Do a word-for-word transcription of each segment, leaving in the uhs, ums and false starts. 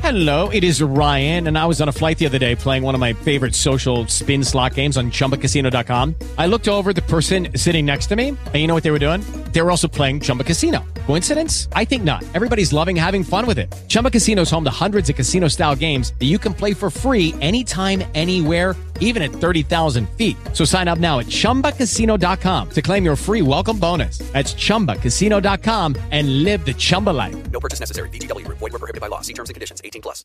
Hello, it is Ryan, and I was on a flight the other day playing one of my favorite social spin slot games on Chumba Casino dot com. I looked over at the person sitting next to me, and you know what they were doing? They were also playing Chumba Casino. Coincidence? I think not. Everybody's loving having fun with it. Chumba Casino is home to hundreds of casino-style games that you can play for free anytime, anywhere, even at thirty thousand feet. So sign up now at Chumba Casino dot com to claim your free welcome bonus. That's Chumba Casino dot com and live the Chumba life. No purchase necessary. V G W. Void where prohibited by law. See terms and conditions. eighteen plus.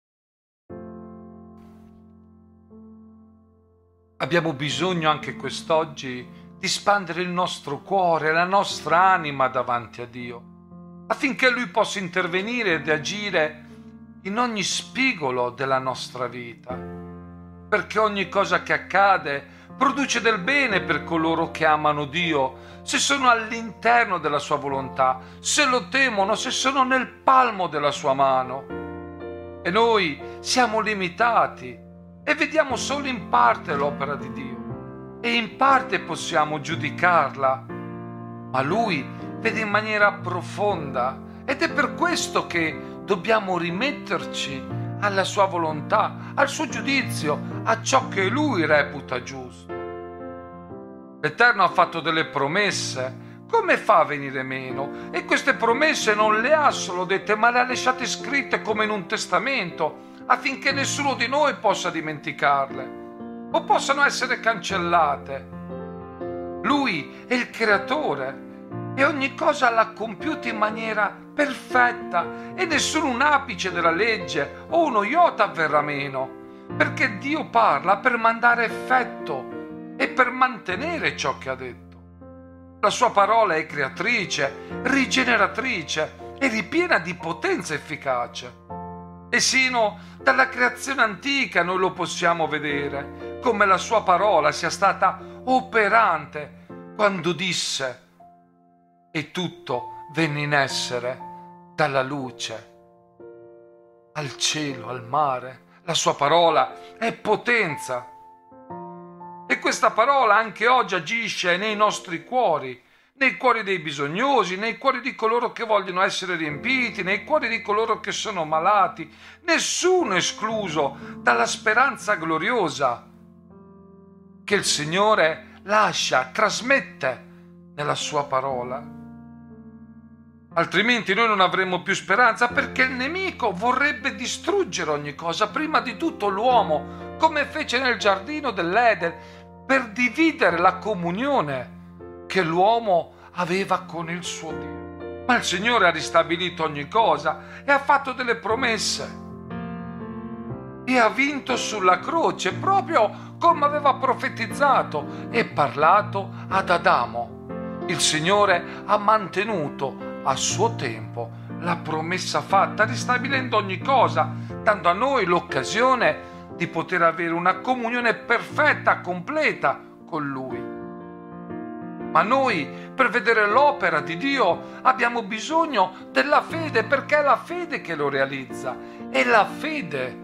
Abbiamo bisogno anche quest'oggi di spandere il nostro cuore, la nostra anima davanti a Dio, affinché Lui possa intervenire ed agire in ogni spigolo della nostra vita, perché ogni cosa che accade produce del bene per coloro che amano Dio, se sono all'interno della sua volontà, se lo temono, se sono nel palmo della sua mano. E noi siamo limitati e vediamo solo in parte l'opera di Dio e in parte possiamo giudicarla, ma Lui vede in maniera profonda ed è per questo che dobbiamo rimetterci alla sua volontà, al suo giudizio, a ciò che Lui reputa giusto. L'Eterno ha fatto delle promesse. Come fa a venire meno? E queste promesse non le ha solo dette, ma le ha lasciate scritte come in un testamento, affinché nessuno di noi possa dimenticarle o possano essere cancellate. Lui è il creatore e ogni cosa l'ha compiuta in maniera perfetta e nessun un apice della legge o uno iota avverrà meno, perché Dio parla per mandare effetto e per mantenere ciò che ha detto. La sua parola è creatrice, rigeneratrice e ripiena di potenza efficace. E sino dalla creazione antica noi lo possiamo vedere, come la sua parola sia stata operante quando disse e tutto venne in essere, dalla luce al cielo, al mare. La sua parola è potenza. E questa parola anche oggi agisce nei nostri cuori, nei cuori dei bisognosi, nei cuori di coloro che vogliono essere riempiti, nei cuori di coloro che sono malati, nessuno escluso dalla speranza gloriosa che il Signore lascia, trasmette nella sua parola. Altrimenti noi non avremmo più speranza, perché il nemico vorrebbe distruggere ogni cosa, prima di tutto l'uomo, come fece nel giardino dell'Eden, per dividere la comunione che l'uomo aveva con il suo Dio. Ma il Signore ha ristabilito ogni cosa e ha fatto delle promesse e ha vinto sulla croce, proprio come aveva profetizzato e parlato ad Adamo. Il Signore ha mantenuto a suo tempo la promessa fatta, ristabilendo ogni cosa, dando a noi l'occasione di poter avere una comunione perfetta, completa con Lui. Ma noi, per vedere l'opera di Dio, abbiamo bisogno della fede, perché è la fede che lo realizza. È la fede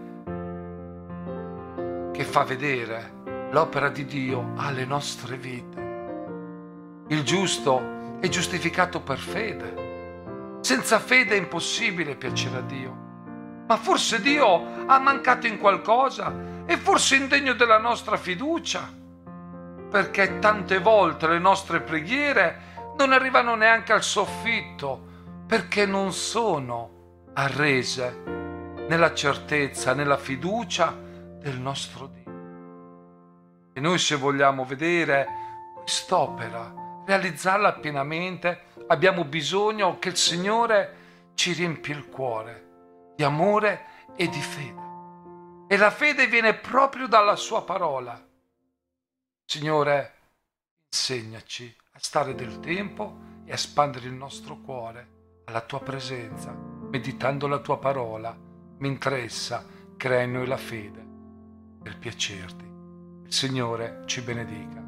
che fa vedere l'opera di Dio alle nostre vite. Il giusto è giustificato per fede. Senza fede è impossibile piacere a Dio. Ma forse Dio ha mancato in qualcosa? È forse indegno della nostra fiducia? Perché tante volte le nostre preghiere non arrivano neanche al soffitto, perché non sono arrese nella certezza, nella fiducia del nostro Dio. E noi, se vogliamo vedere quest'opera, realizzarla pienamente, abbiamo bisogno che il Signore ci riempia il cuore di amore e di fede. E la fede viene proprio dalla sua parola. Signore, insegnaci a stare del tempo e a spandere il nostro cuore alla tua presenza, meditando la tua parola, mentre essa crea in noi la fede per piacerti. Il Signore ci benedica.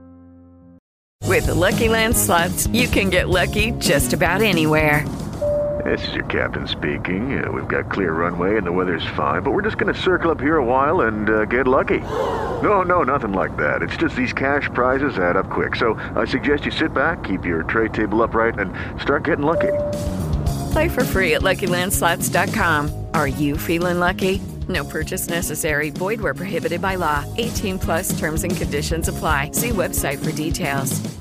With the Lucky Land Slots, you can get lucky just about anywhere. This is your captain speaking. Uh, we've got clear runway and the weather's fine, but we're just going to circle up here a while and uh, get lucky. No, no, nothing like that. It's just these cash prizes add up quick. So I suggest you sit back, keep your tray table upright, and start getting lucky. Play for free at Lucky Land Slots dot com. Are you feeling lucky? No purchase necessary. Void where prohibited by law. eighteen plus terms and conditions apply. See website for details.